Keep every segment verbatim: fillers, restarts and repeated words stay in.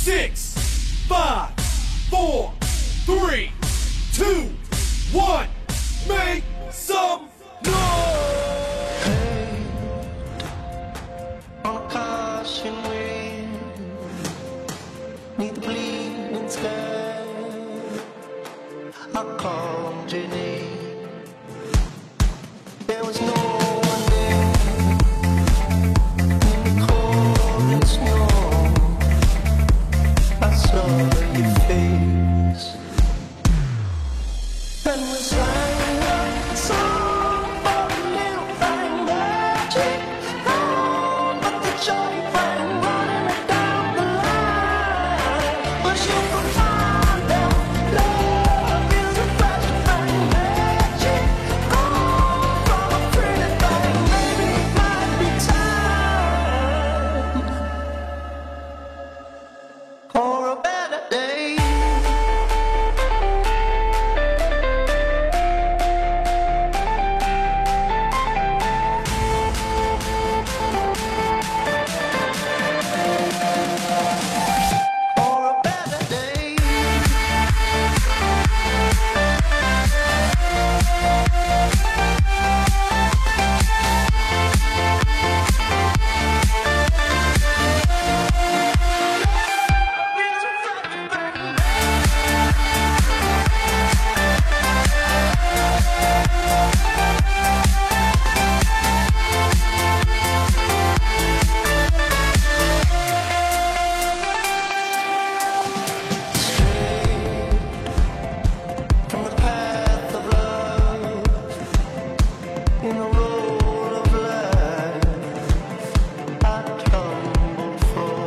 six, five, four, three, two, one. Make some noise! On a caution wind, neath the bleeding sky, I called your name. There was no one there in the cold and snow. I saw your face, and we sang a song for a little thing magic. Oh, but the joy rang running it down the line. But you can find out love is a flash bang magic. Oh, from a pretty thing, maybe it might be time for a better day. For a better day. From the path of love, in the road of life, I tumbled for.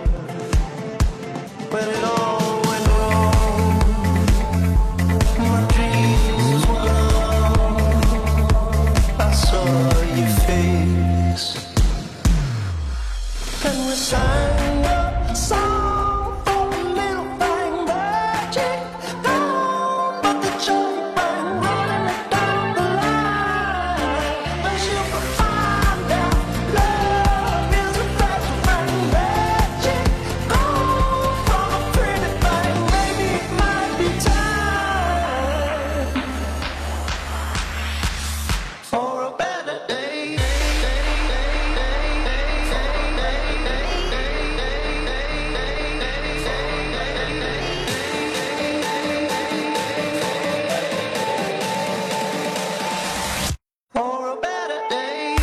When it all went wrong, my dreams were gone. I saw your face, and we sang a song for a little thing magic. Oh, but the joy rang running it down the line. But you can find out love is a flash bang magic. Oh, from a pretty thing, maybe it might be time for a better day. For a better day.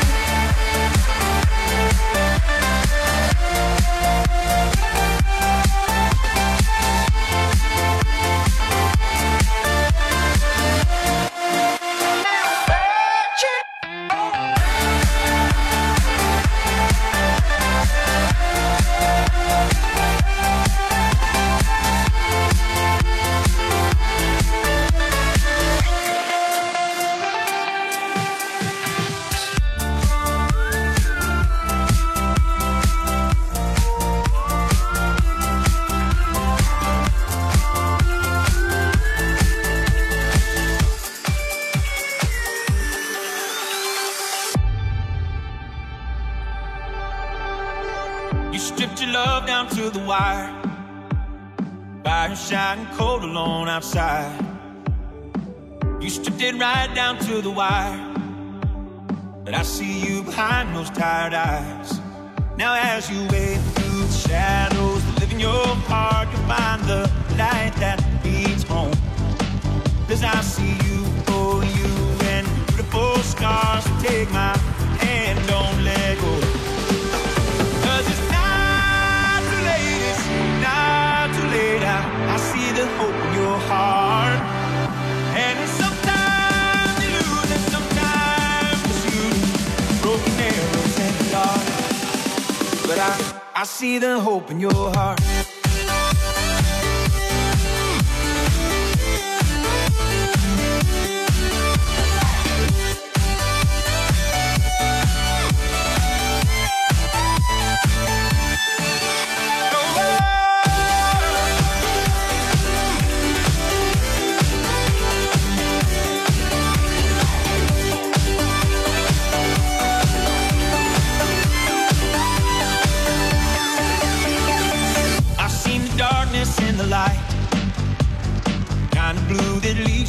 You stripped your love down to the wire. Fire shining cold alone outside. You stripped it right down to the wire. But I see you behind those tired eyes. Now as you wade through the shadows that live in your heart, you'll find the light that leads home. Cause I see you for you and beautiful scars. So take my hand, don't let go. Cause it's not too late, it's not too late. I, I see the hope in your heart. And sometimes you lose and sometimes you shoot broken arrows in the dark. But I, I see the hope in your heart.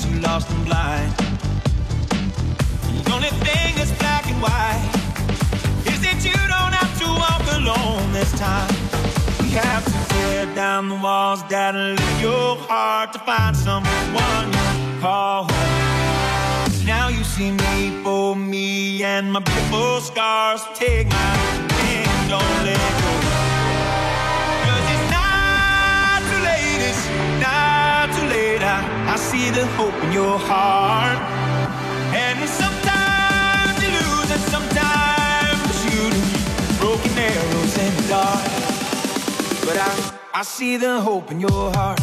makes you lost and blind. The only thing that's black and white is that you don't have to walk alone this time. We have to tear down the walls that leave your heart to find someone you call home. Now you see me for me and my beautiful scars. Take my hand, don't let go. Cause it's not too late, it's not too late. I, I see the hope in your heart. And sometimes you lose and sometimes you shoot broken arrows in the dark. But I, I see the hope in your heart.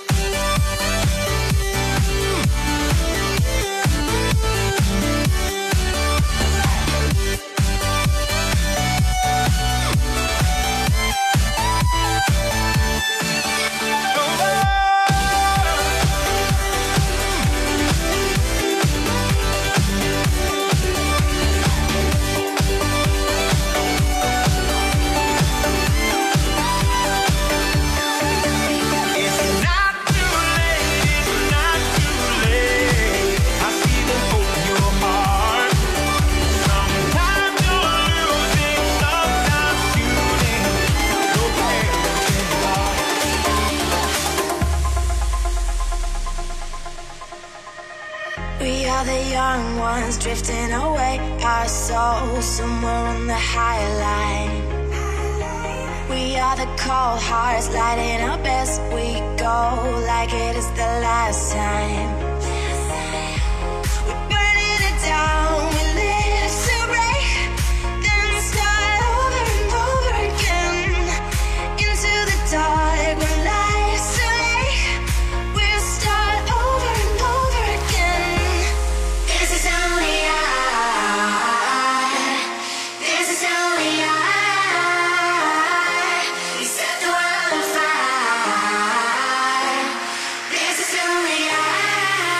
We are the young ones drifting away, our souls somewhere on the higher line. We are the cold hearts lighting up as we go, like it is the last time. We're burning it down, we live to break, then start over and over again. Into the dark when life's too late, we'll start over and over again. This is only I, this is only I. We set the world on fire. This is only I.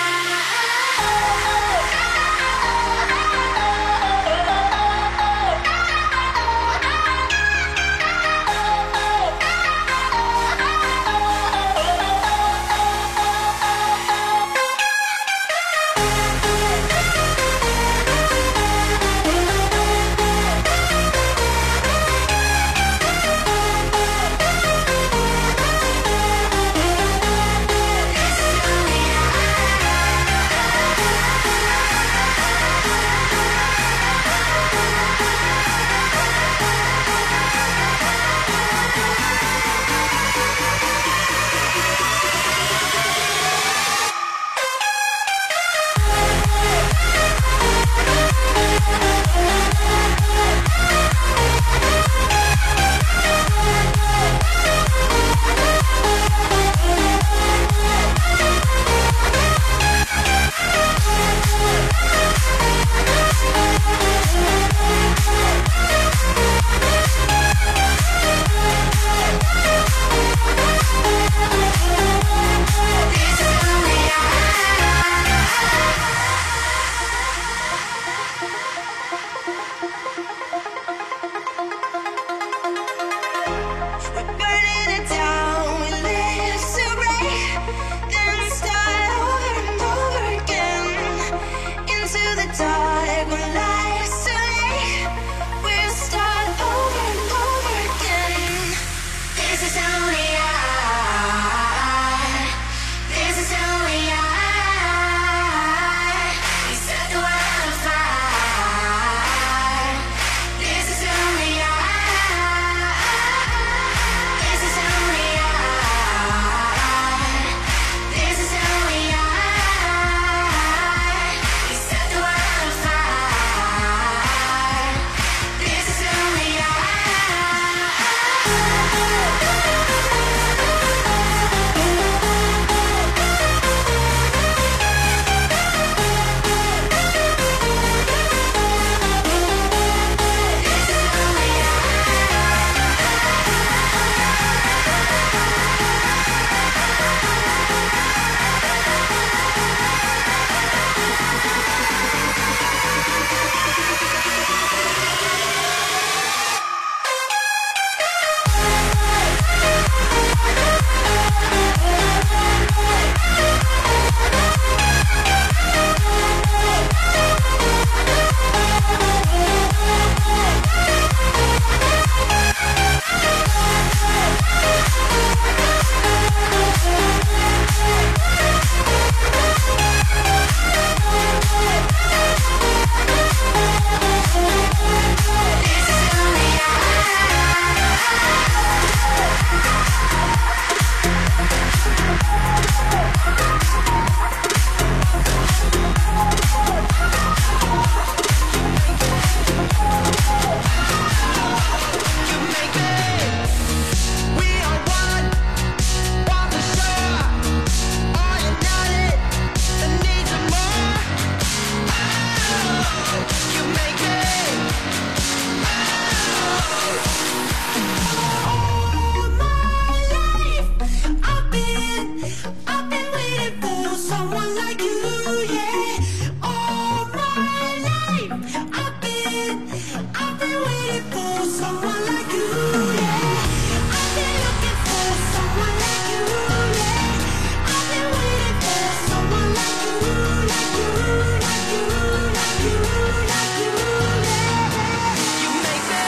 been waiting for someone like you, yeah. I've been looking for someone like you, yeah. I've been waiting for someone like you, like you, like you, like you, like you, yeah. You make me.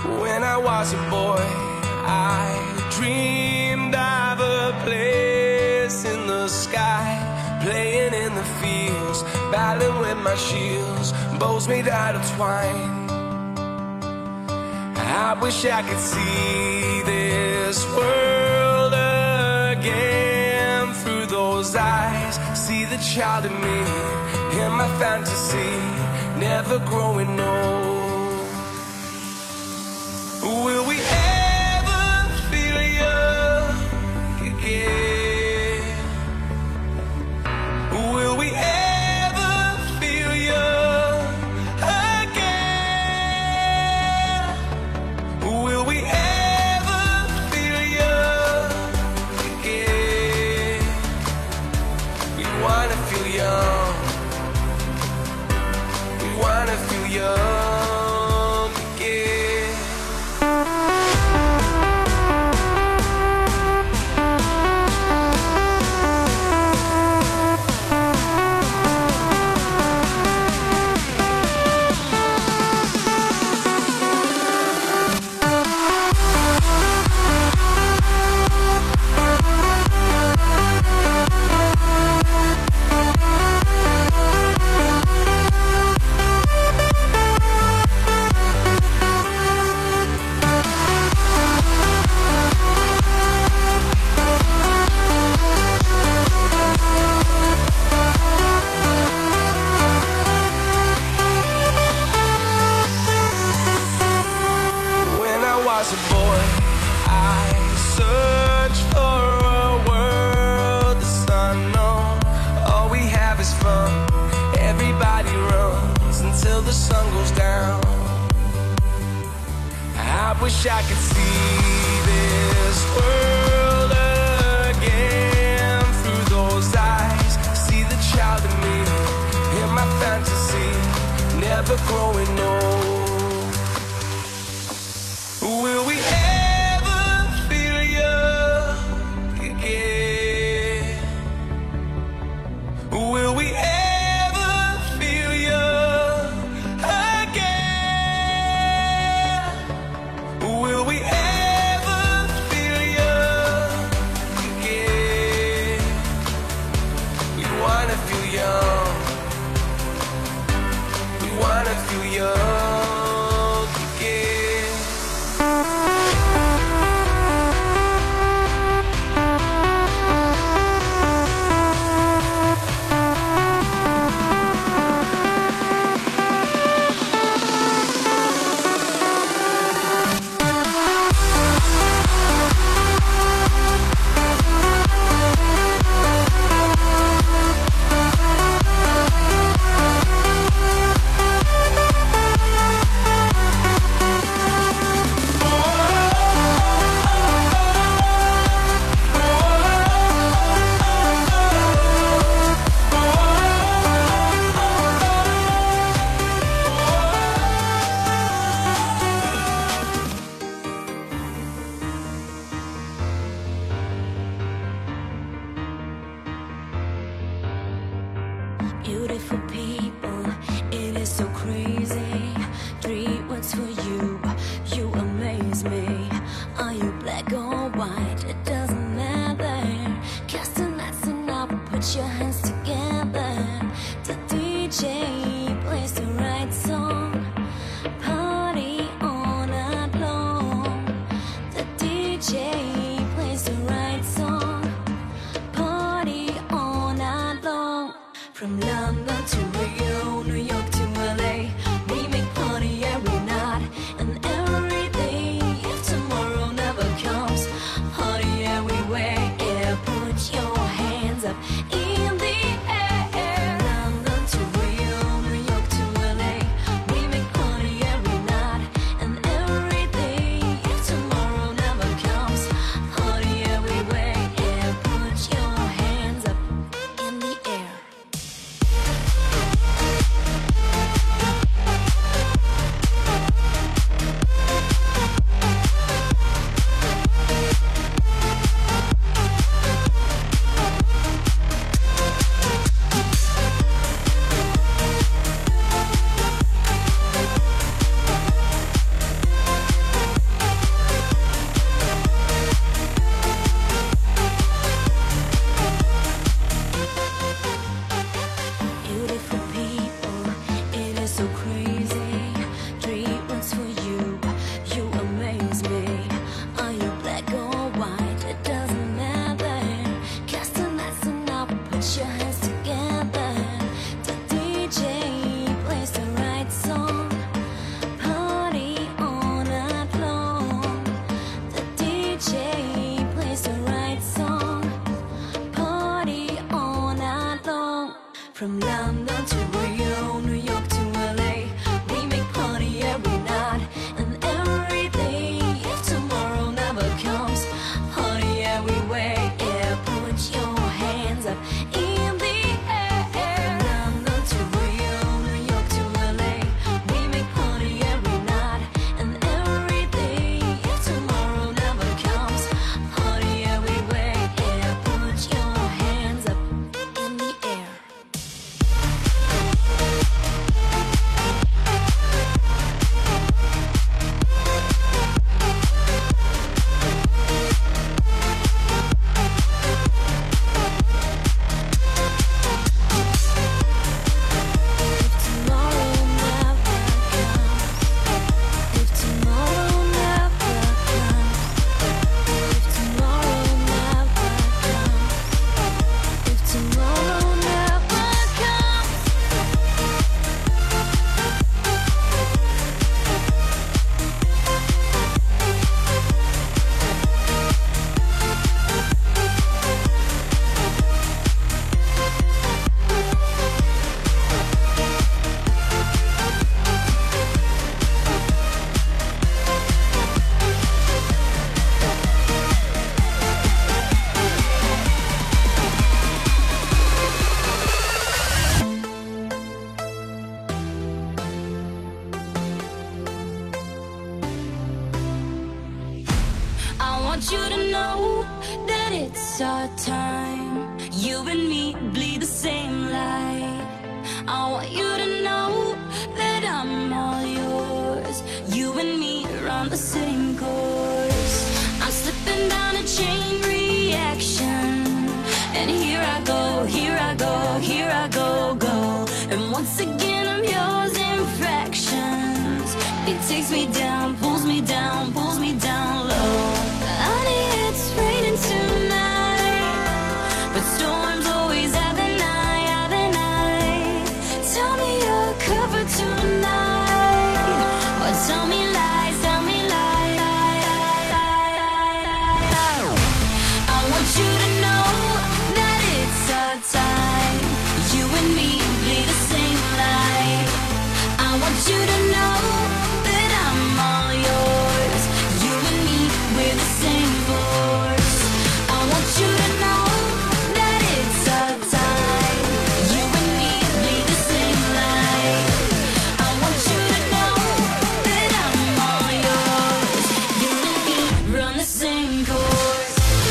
When I was a boy, I dreamed of a place in the sky, playing in the fields, battling with my shields, bows made out of twine. I wish I could see this world again through those eyes, see the child in me, in my fantasy, never growing old. Will we ever feel young again? Will we ever feel young again? Will we ever feel young again? We wanna feel young. We wanna feel young again. As a boy, I searched for a world that's unknown. All we have is fun. Everybody runs until the sun goes down. I wish I could see this world again through those eyes, see the child in me, in my fantasy, never growing old. Will we ever feel young again? Will we ever feel young again? Will we ever feel young again? We wanna feel young. We wanna feel young again. Beautiful people, it is so crazy. Three words for you, you amaze me. Are you black or white? It doesn't matter. Cast the nets and up, put your hands together. The D J plays the right song. Party all night long. The D J plays the right song. Party all night long. From London to Rio, New York to L A, want you to know that it's our time. You and me bleed the same light. I want you to know that I'm all yours. You and me run the same course. I'm slipping down a chain reaction, and here I go, here I go, here I go, go. And once again I'm yours in fractions. It takes me down, pulls me down, pulls me down low. Honey, it's raining tonight, but storms always have the night, have the night. Tell me you're covered tonight, or tell me lies, tell me lies. I want you to know that it's our time. You and me bleed the same light. I want you to know that I'm all yours. You and me, we're the same force. I want you to know that it's our time. You and me bleed the same light. I want you to know that I'm all yours. You and me run the same course.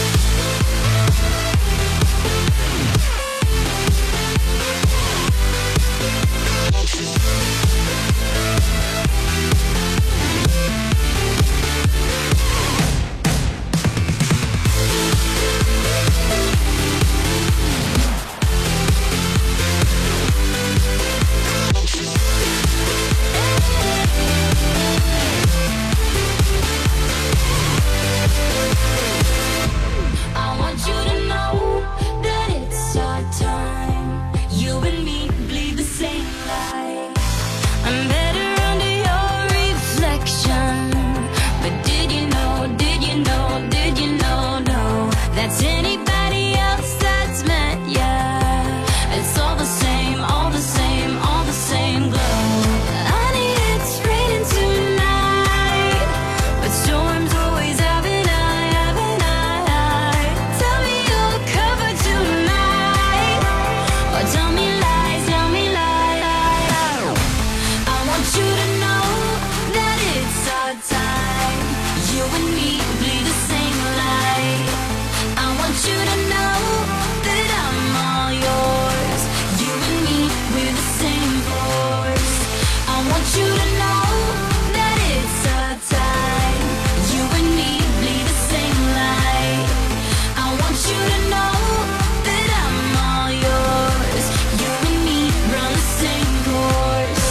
I want you to know that it's our time. You and me bleed the same light. I'm better under your reflection. But did you know, did you know, did you know, no, that's anybody else that's meant, yeah. It's all the same, all the same, all the same glow. Honey, it's raining tonight, but storms always have an eye, have an eye. Tell me you're covered tonight, or tell me lies, tell me lies. I want you to know that it's our time. You and me bleed the same light. I want you to know that I'm all yours. You and me, we're the same force. I want you to know that it's our time. You and me bleed the same light. I want you to know that I'm all yours. You and me run the same course.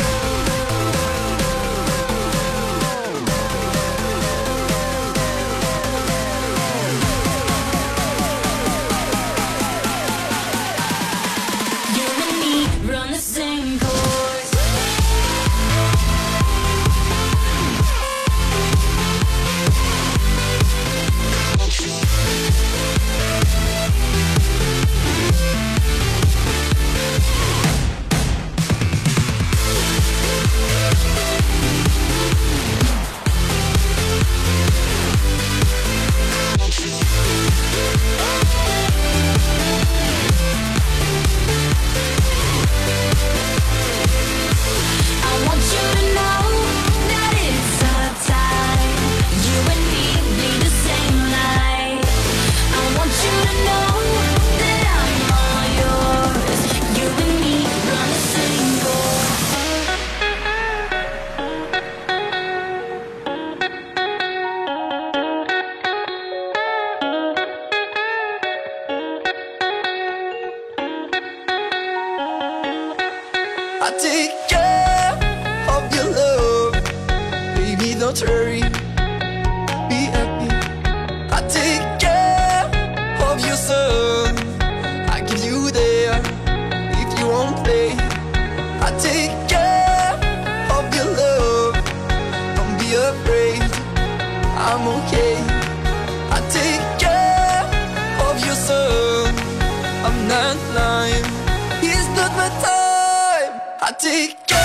You and me run the same course. I want you to know that it's our time. You and me bleed the same light. I want you to know that I'm all yours. You and me run the same course. I take care of your love, baby, don't hurry, be happy. I take care of your son, I give you there if you won't play. I take care of your love, don't be afraid, I'm okay. I take care of your son, I'm not lying, it's not my time. I take care.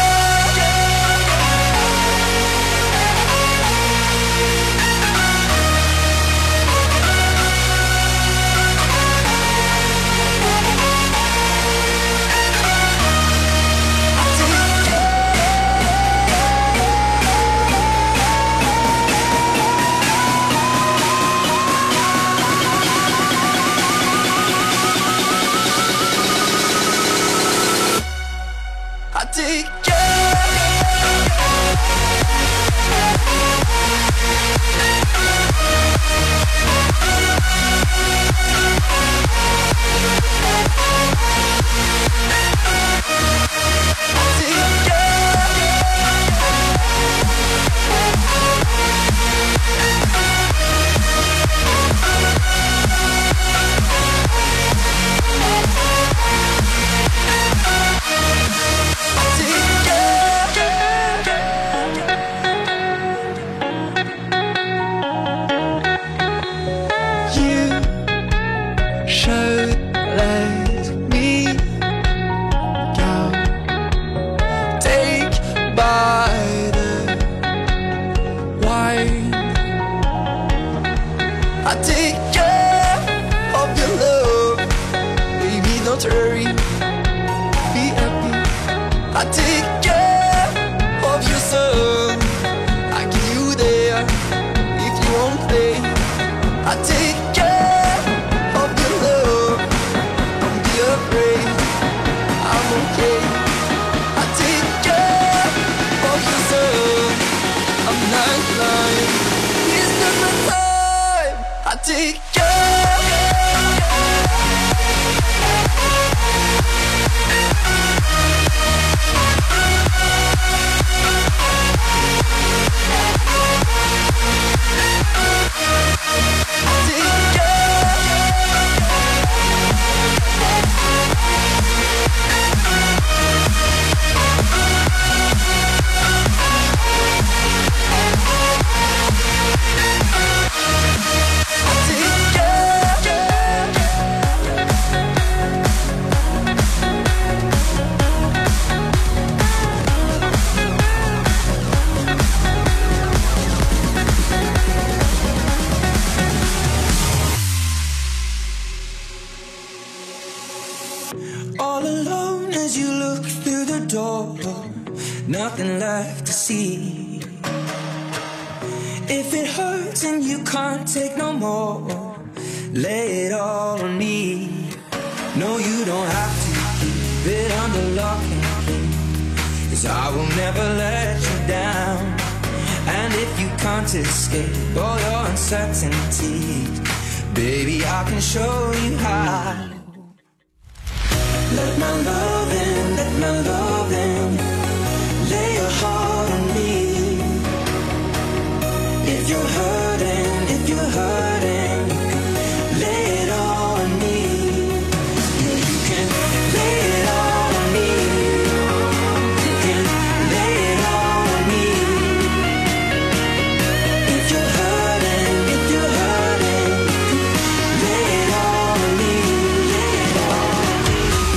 I take you. I take care of your love, baby, don't hurry, be happy. I take care of your son, I give you there if you won't play. I take care of your love, don't be afraid, I'm okay. I take care of your son, I'm not lying, it's not my time. I take care. All alone as you look through the door, nothing left to see. If it hurts and you can't take no more, lay it all on me. No, you don't have to keep it under lock and key, 'cause I will never let you down. And if you can't escape all your uncertainties, baby, I can show you how. Let my love in, let my love in, lay your heart on me. If you're hurting, if you're hurting, lay it all on me. Yeah, you can lay it all on me. You can lay it all on me. If you're hurting, if you're hurting, lay it all on me. Lay it all on me.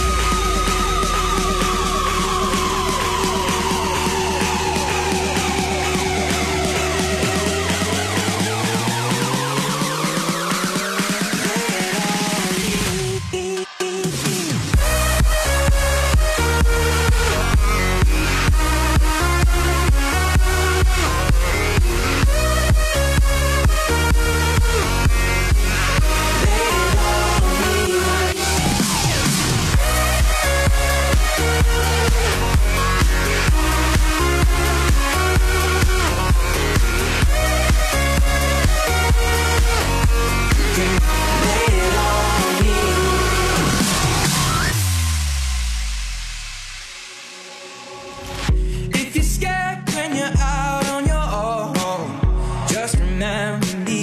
If you're scared when you're out on your own, just remember me,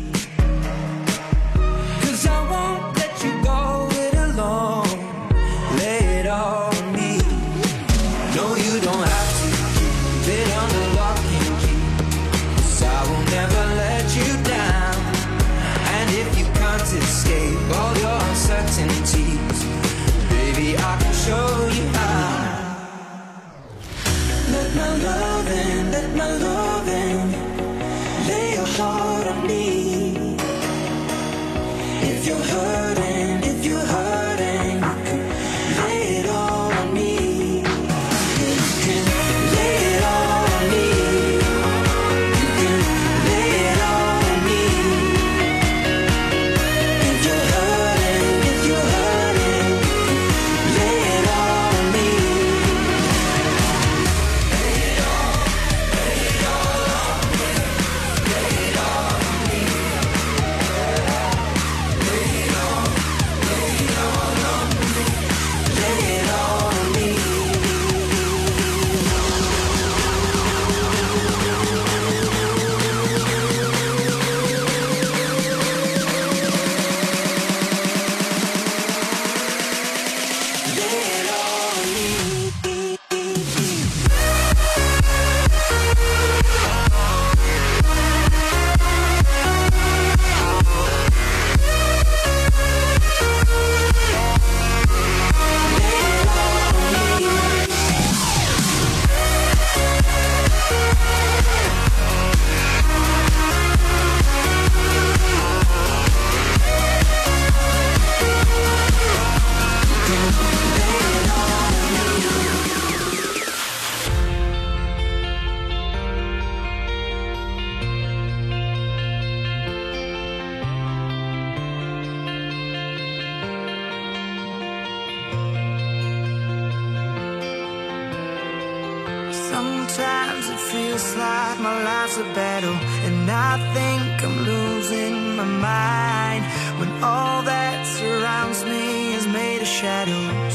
'cause I won't let you go it alone. Lay it all on me. No, you don't have to keep it under lock and key, 'cause I will never let you down. And if you can't escape all your uncertainties, baby, I can show you how. Let my love in, let my love in, lay your heart on me. If you're hurting, if you're hurting, lay it all on me. You can lay it all on me. You can lay it all on me. If you're hurting, if you're hurting, lay it all on me. Sometimes it feels like my life's a battle, and I think I'm losing my mind when all that surrounds me is made of shadows.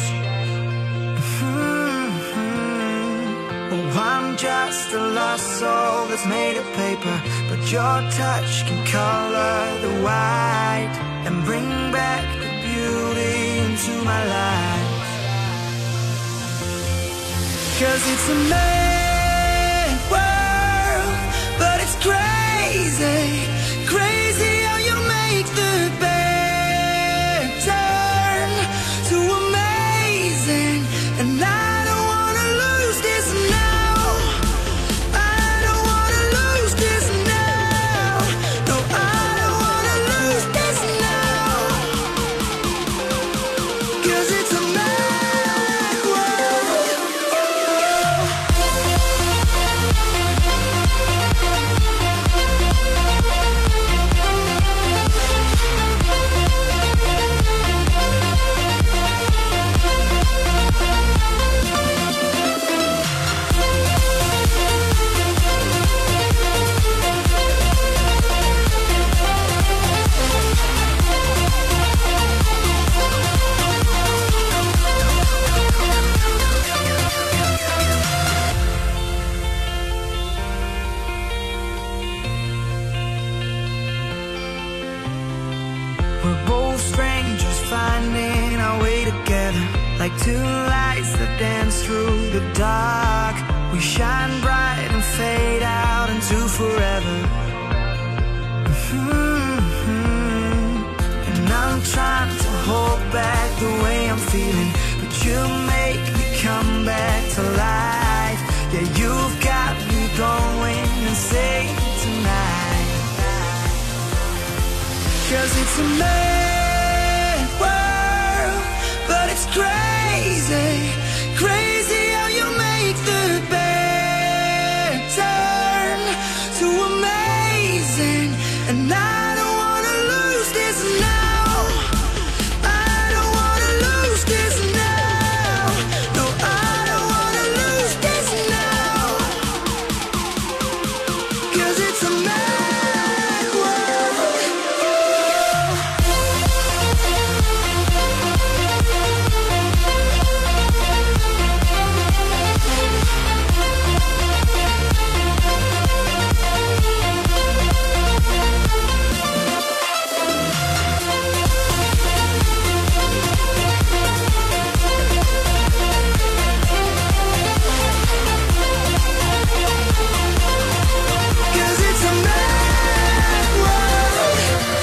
Mm-hmm. Oh, I'm just a lost soul that's made of paper, but your touch can color the white and bring back the beauty into my life. 'Cause it's a mad world, but it's crazy, crazy how you make the bad turn to amazing. And I don't wanna lose this now, I don't wanna lose this now, no, I don't wanna lose this now, 'cause it's a mad world. We're both strangers finding our way together, like two lights that dance through the dark. We shine bright and fade out into forever. Mm-hmm. And I'm trying to hold back the way I'm feeling, but you make me come back to life. Yeah, you've got me going insane tonight. 'Cause it's a mad world, but it's crazy, crazy how you make the bad turn to amazing. And I don't wanna lose this now, I don't wanna lose this now, no, I don't wanna lose this now, 'cause it's a mad world. Cause it's a mad world.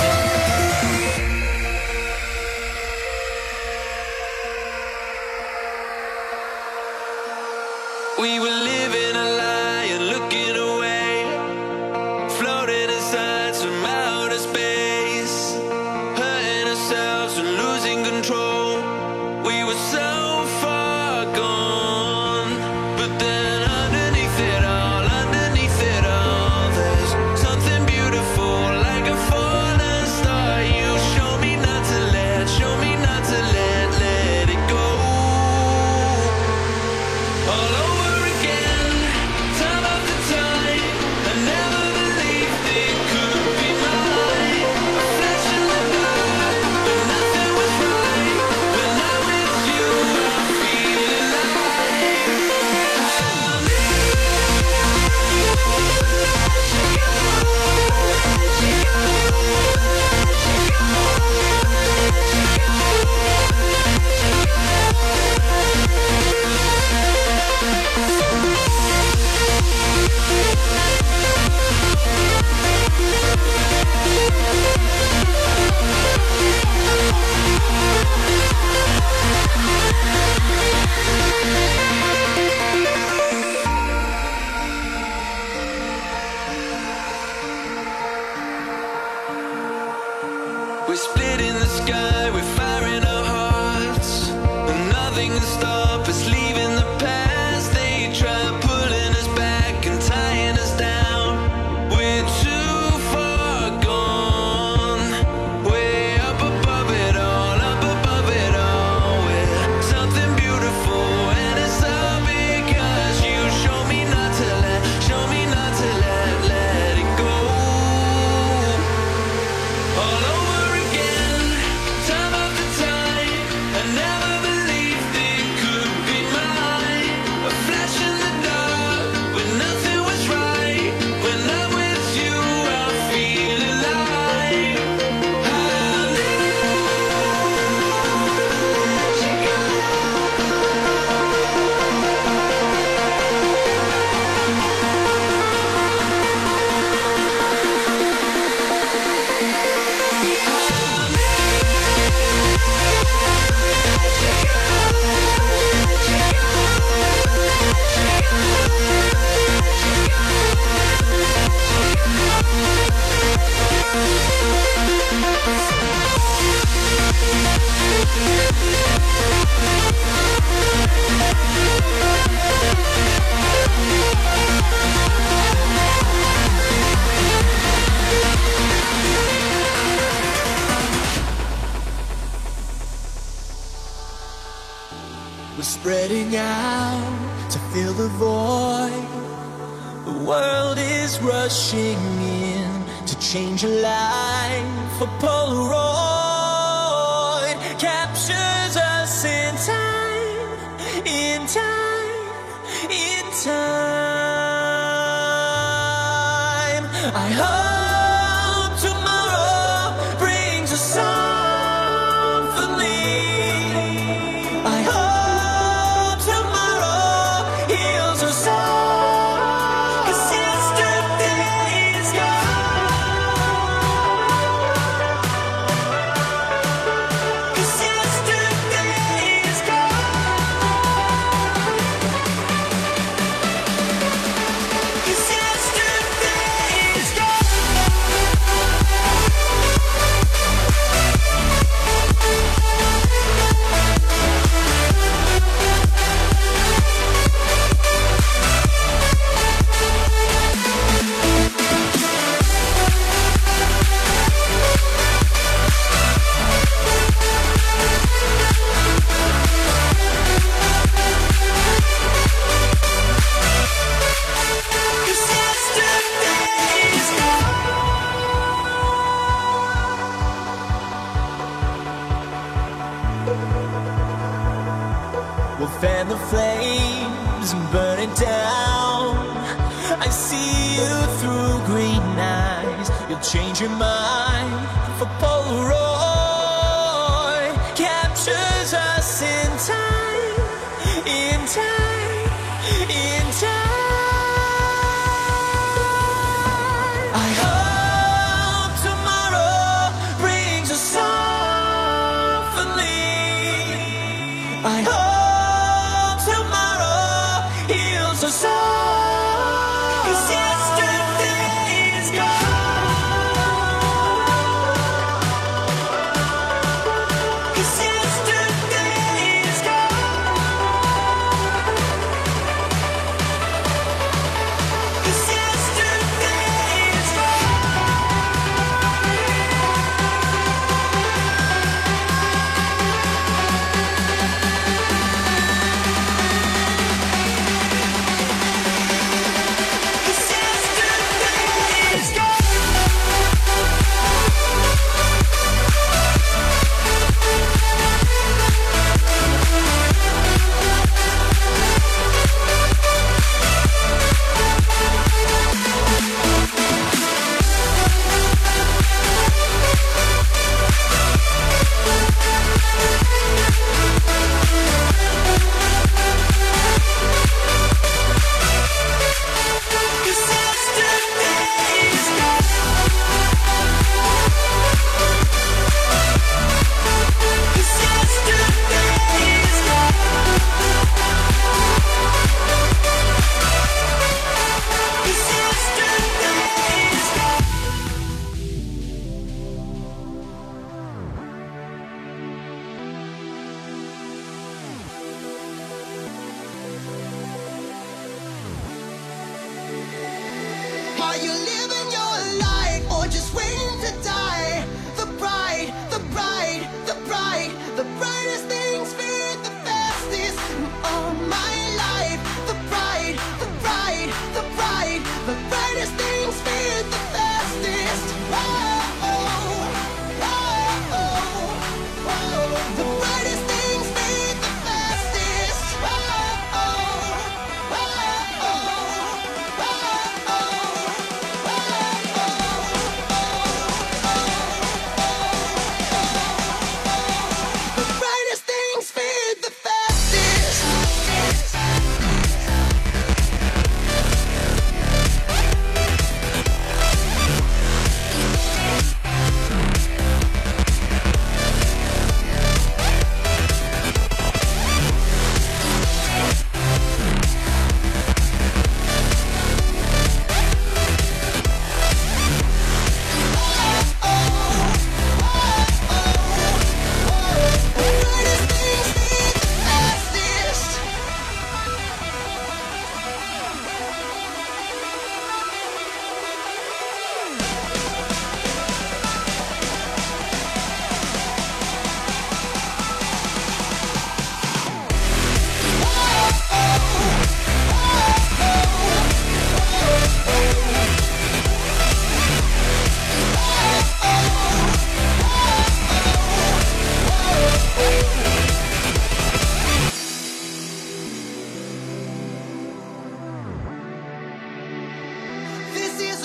We were living a lie and looking away, floating inside some outer space, hurting ourselves and losing control. We were so far gone, but then underneath it all, underneath it all, there's something beautiful like a fallen star. You show me not to let, show me not to let, let it go. All over again, boy. The world is rushing in to change your life. A Polaroid captures us in time, in time, in time. I hope tomorrow brings a symphony. I hope tomorrow heals our soul. 'Cause yesterday is gone. 'Cause yesterday is gone. 'Cause yesterday is we'll fan the flames and burn it down. I see you through green eyes. You'll change your mind for Polaroid captures us in time, in time, in time. I hope tomorrow brings a symphony. I hope tomorrow heals our soul. 'Cause yesterday is gone. 'Cause yesterday is gone. 'Cause yesterday is Are you living your life or just waiting to die? The bride, the bride, the bride, the brightest things fade the fastest in all my life. The bride, the bride, the bride, the brightest things fade the fastest. Whoa, whoa, whoa. The brightest things fade the fastest. Whoa, whoa, whoa.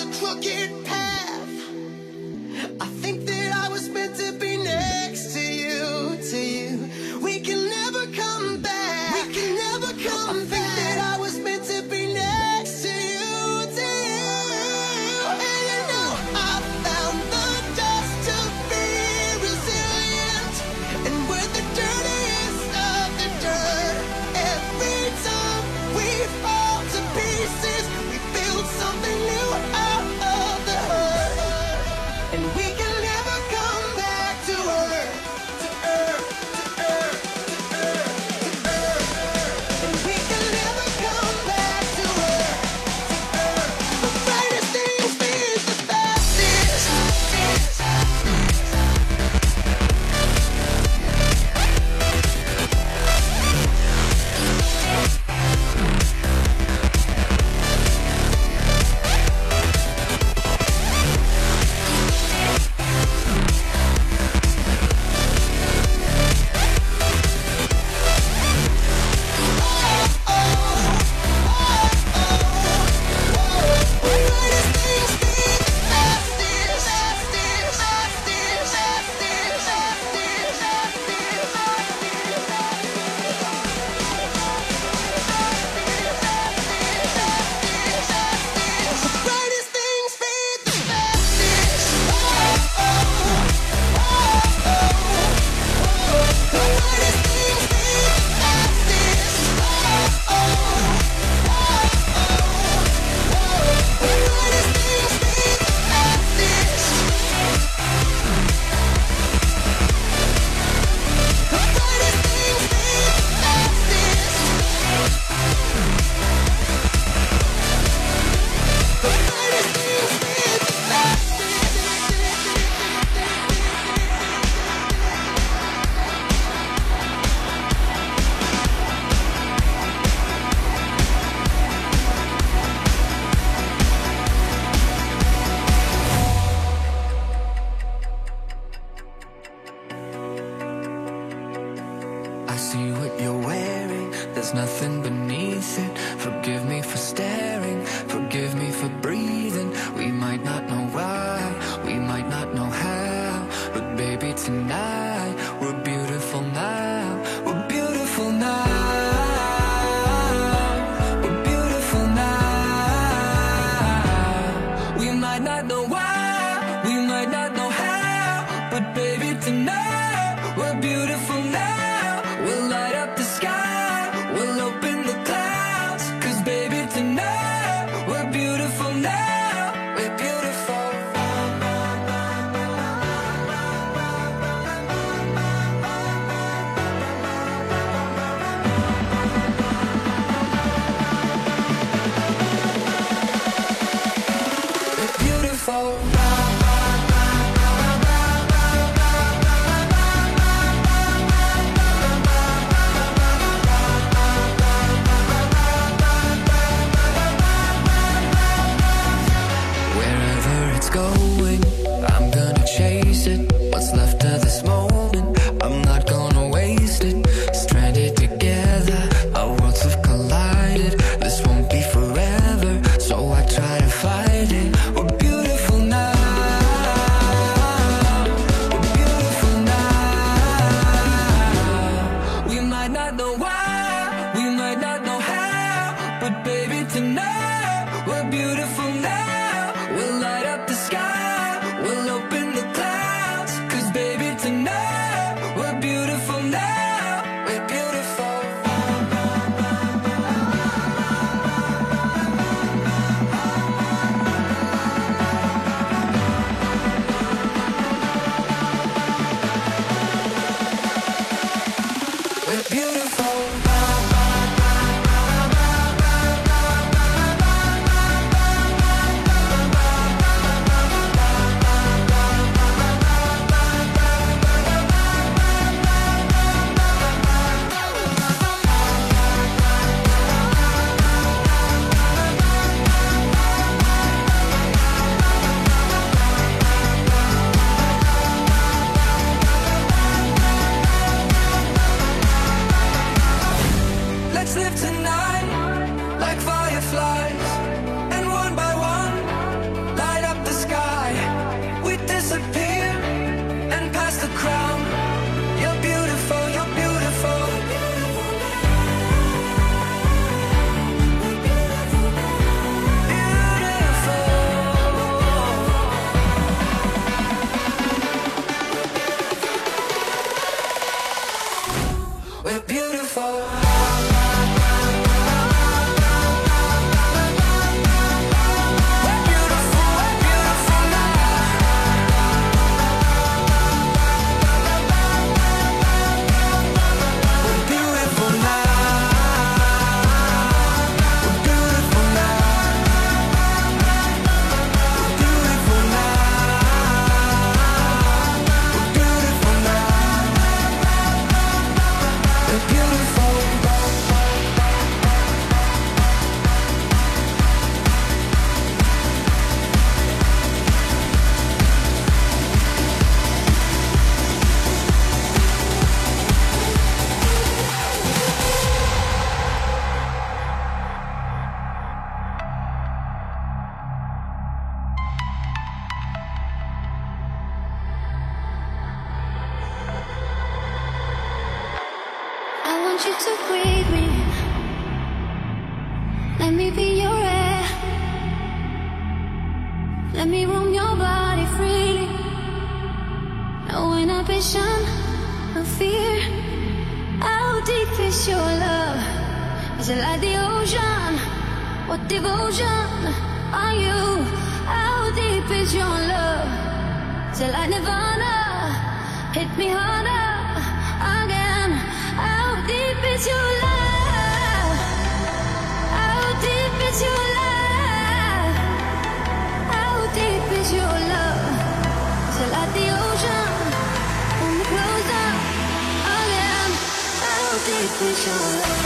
crooked path. I think that I was meant to be next to you, to you. We can never come back. We can never come I back. I think that I was meant to be next to you, to you. And you know I found the dust to be resilient, and we're the dirtiest of the dirt. Every time we fall to pieces, we build something new out of the hurt. And we can never come back to earth, to earth, to earth, to earth, to earth. And we can never come back to earth, to earth. The brightest things fade the fastest. I see what you're wearing, there's nothing beneath it. Forgive me for staring, forgive me for breathing. We might not know why, we might not know how, but baby tonight, we're beautiful now. We're beautiful now. We're beautiful now. We might not know why, we might not know how, but baby tonight, we're beautiful now. We'll light up the sky, we'll open the clouds, 'cause baby tonight, we're beautiful now. We're beautiful. We're beautiful. Wherever it's going, I'm gonna chase it. What's left of this moment, I'm not gonna waste it. Stranded together, our worlds have collided. This won't be forever, so I try to fight it. We're beautiful now. We're beautiful now. We might not know why, we might not know how, but baby tonight, we're beautiful now. We'll light up the sky, we'll open the clouds, 'cause baby tonight, we're beautiful now. We're beautiful. We're beautiful. Let's live tonight like fireflies, and one by one, want you to breathe me. Let me be your air. Let me roam your body freely. No inhibition, no fear. How deep is your love? Is it like the ocean? What devotion are you? How deep is your love? Is it like Nirvana? Hit me harder again. How deep is your love? How deep is your love? How deep is your love? Is it like the ocean? Pull me closer again. How deep is your love?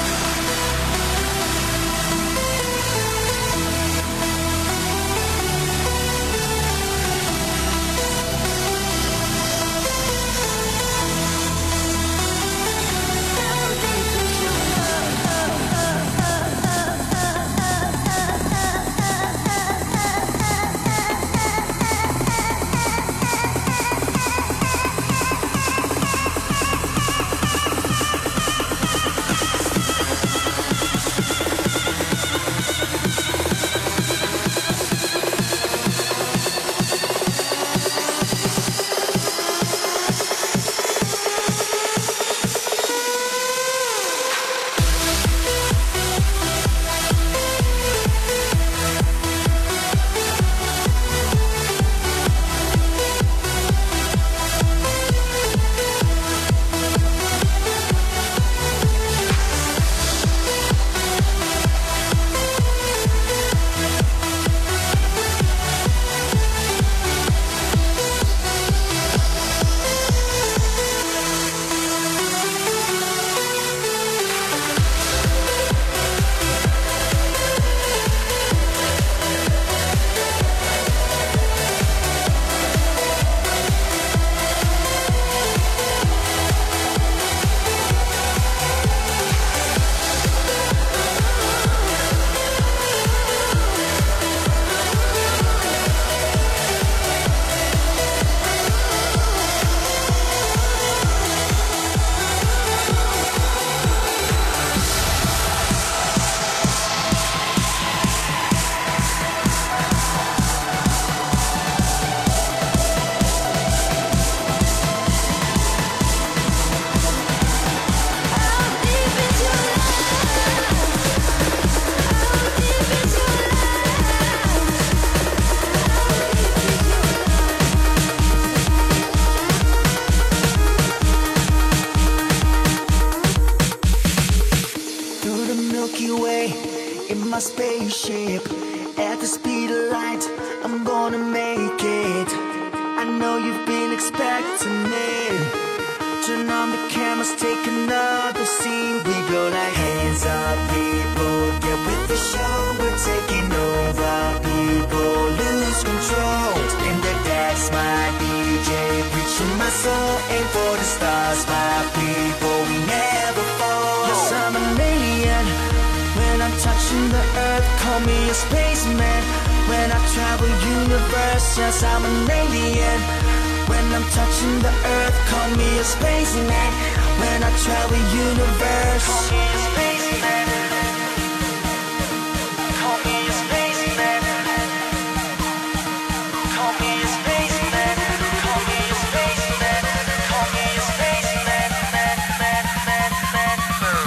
my spaceship at the speed of light. I'm gonna make it. I know you've been expecting it. Turn on the cameras, take another scene. We go like hands up, people. Get with the show, we're taking over. People lose control. In the dance, my D J, preaching my soul. Aim for the stars, my people. We never fall. Yes, I'm an alien. When I'm touching the earth, call me a spaceman. When I travel universe, yes, I'm an alien. When I'm touching the earth, call me a spaceman. When I travel universe, call me a spaceman. Call me a spaceman. Call me a spaceman. Call me a spaceman. Call me a spaceman. Man, man, man, man, man.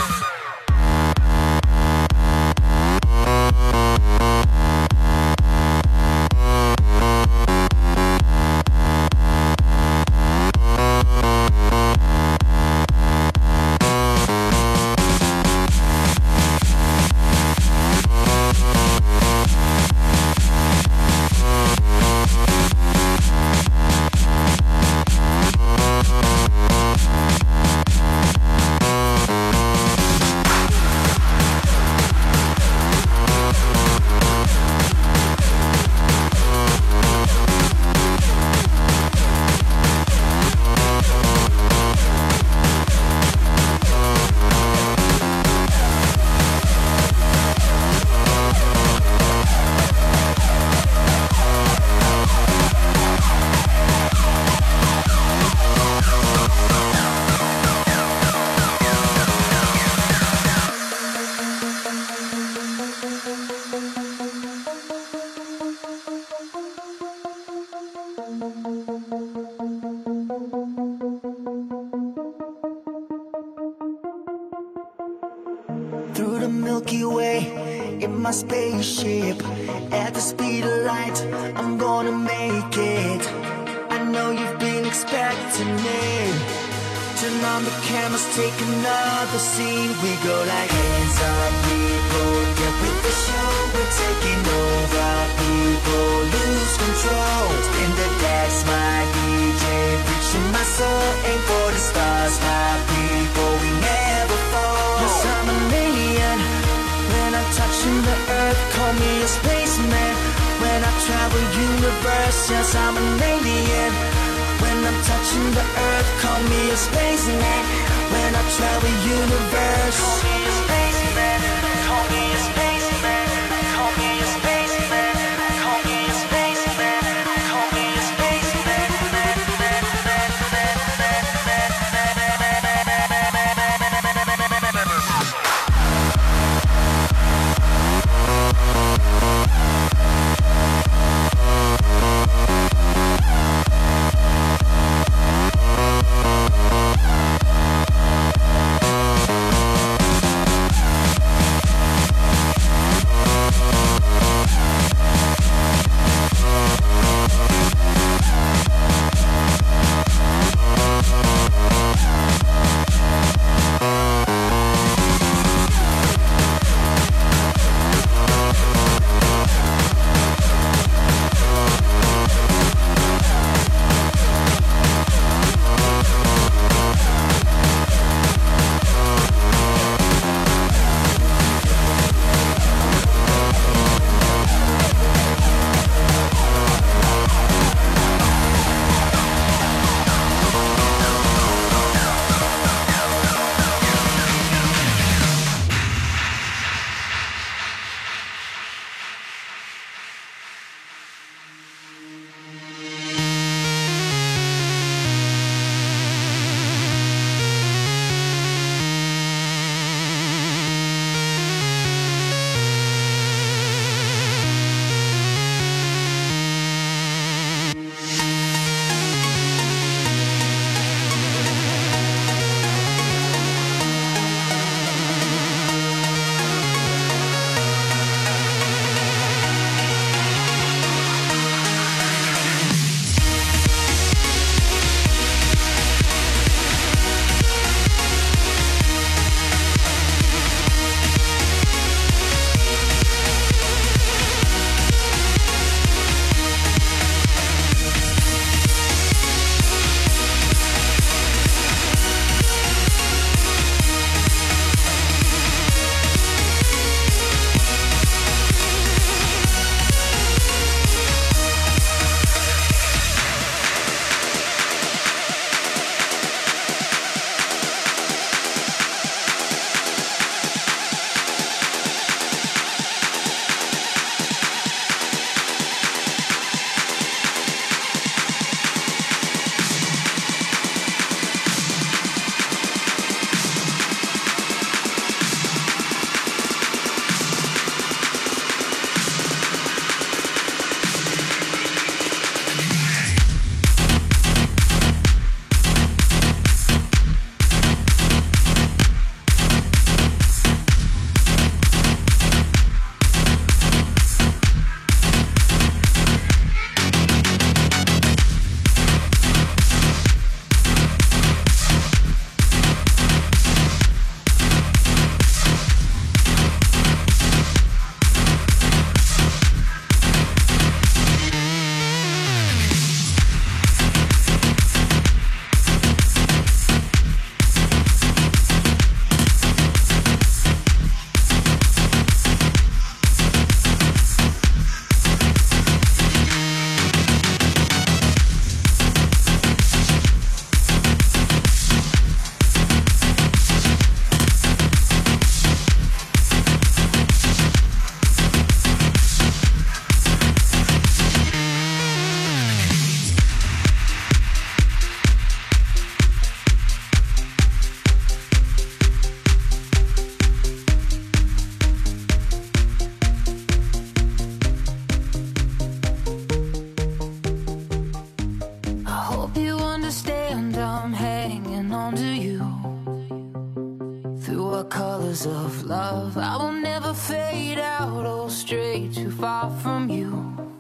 the Milky Way in my spaceship. At the speed of light, I'm gonna make it. I know you've been expecting me. Turn on the cameras, take another scene. We go like hands up, people, get with the show. We're taking over, people lose control. Spin the decks, my D J, reaching my soul. Aim for the stars, my people, we never fall. Yes, I'm an alien. When I'm touching the earth, call me a spaceman. When I travel universe, yes, I'm an alien. When I'm touching the earth, call me a spaceman. When I travel universe, call me a spaceman. Call me a spaceman. Call me a spaceman. Call me a spaceman. Call me a spaceman. colors of love. I will never fade out or stray too far from you.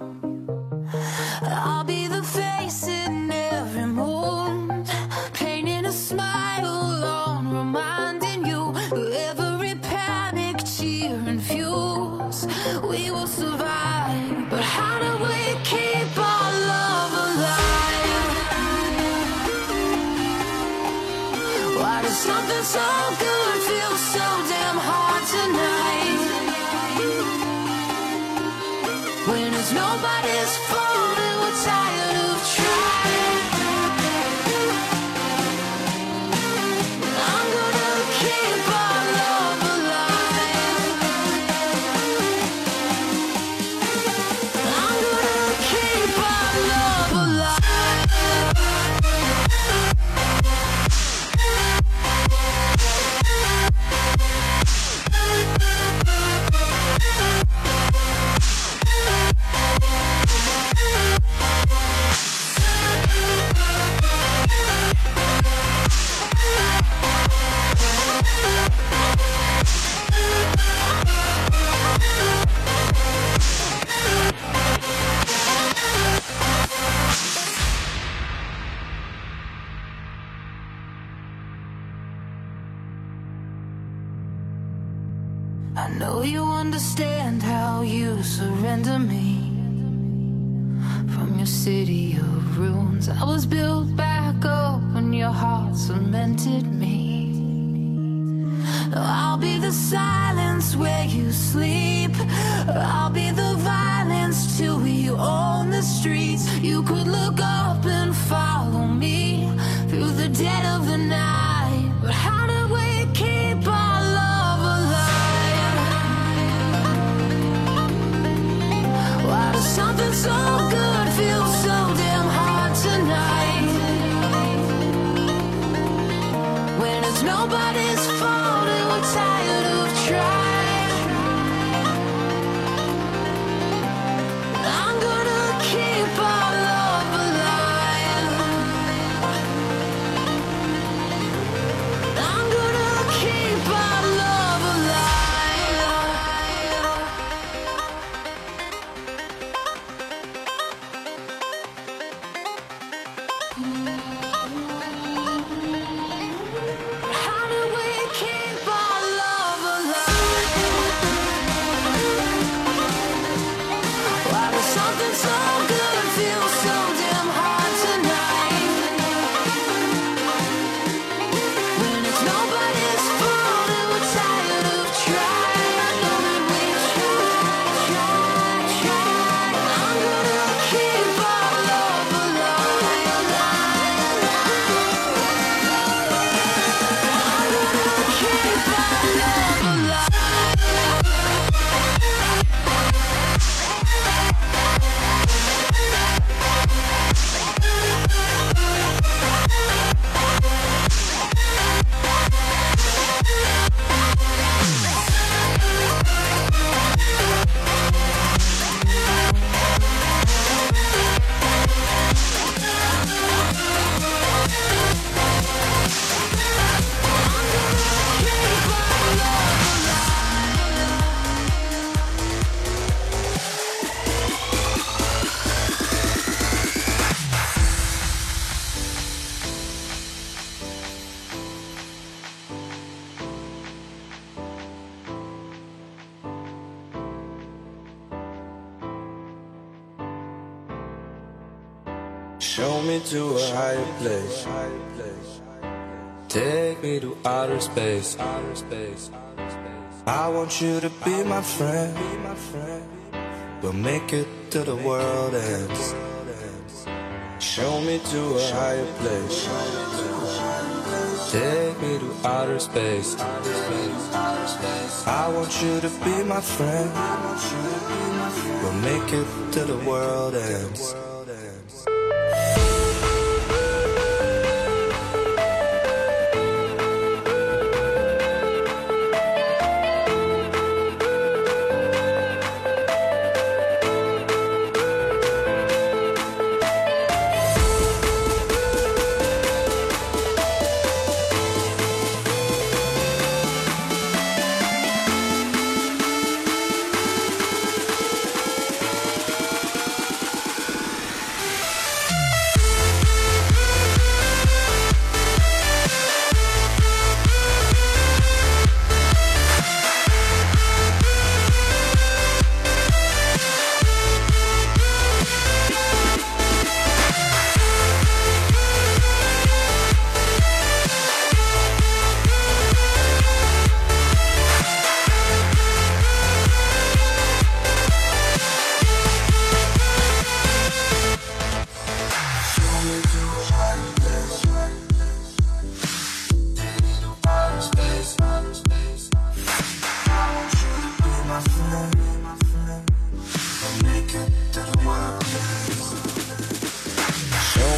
I'll be the face in every mood, painting a smile on, reminding you of every panic, cheer and fuse. We will survive, but how do we keep our love alive? Why does something so good feel so damn hard tonight? When it's nobody's fault and we're tired of trying, I'm gonna keep our love alive. I'm gonna keep our love alive. I know you understand how you surrender me. From your city of ruins, I was built back up when your heart cemented me. I'll be the silence where you sleep. I'll be the violence till we own the streets. You could look up and follow me through the dead of the night. But how do we keep our love alive? Why does something so good feel so damn hard tonight? When it's nobody's fault and we're tired of trying, I'm gonna keep our love alive. I'm gonna keep our love alive. How do we keep our love alive? Why does something so good feel so damn hard tonight? When it's nobody's fault and we're tired of trying, and we try, try, try. I'm gonna keep our love alive. I'm gonna keep our love alive. Show me to a higher place. Take me to outer space. I want you to be my friend. We'll make it to the world ends. Show me to a higher place. Take me to outer space. I want you to be my friend. We'll make it to the world ends.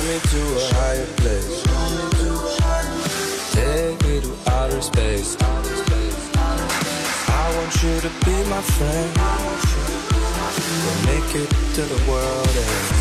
me to a higher place. Take me to outer space. I want you to be my friend. We'll make it to the world end.